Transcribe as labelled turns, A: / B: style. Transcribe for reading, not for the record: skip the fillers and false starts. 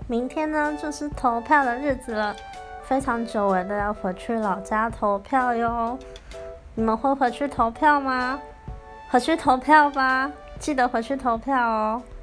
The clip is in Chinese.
A: 明天呢就是投票的日子了，非常久违的要回去老家投票哟。你们会回去投票吗？回去投票吧，记得回去投票哦。